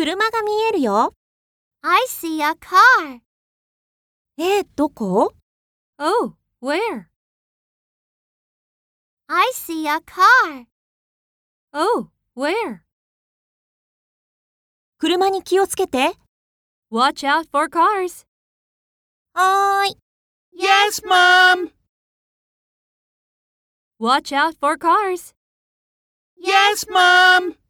車が見えるよ。 I see a car. どこ？ Oh, where? I see a car. Oh, where? 車に気をつけて。 Watch out for cars. はーい。 Yes, Mom! Watch out for cars. Yes, Mom!